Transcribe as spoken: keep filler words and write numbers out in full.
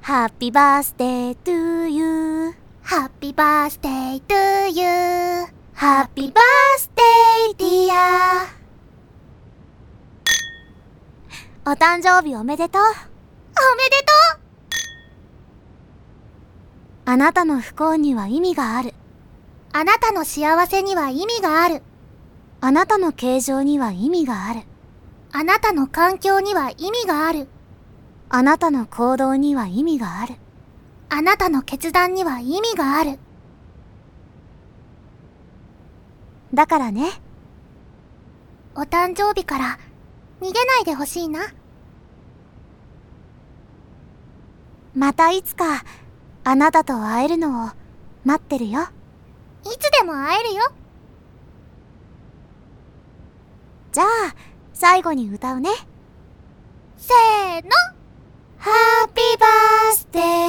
Happy birthday to you. Happy birthday to you. Happy birthday dear. お誕生日おめでとう。 おめでとう。 あなたの不幸には意味がある。 あなたの幸せには意味がある。 あなたの形状には意味がある。 あなたの環境には意味がある。 あなたの行動には意味がある。 あなたの決断には意味がある。 だからね。 お誕生日から逃げないでほしいな。 またいつかあなたと会えるのを待ってるよ。 いつでも会えるよ。 じゃあ最後に歌うね。 せーの。 Happy birthday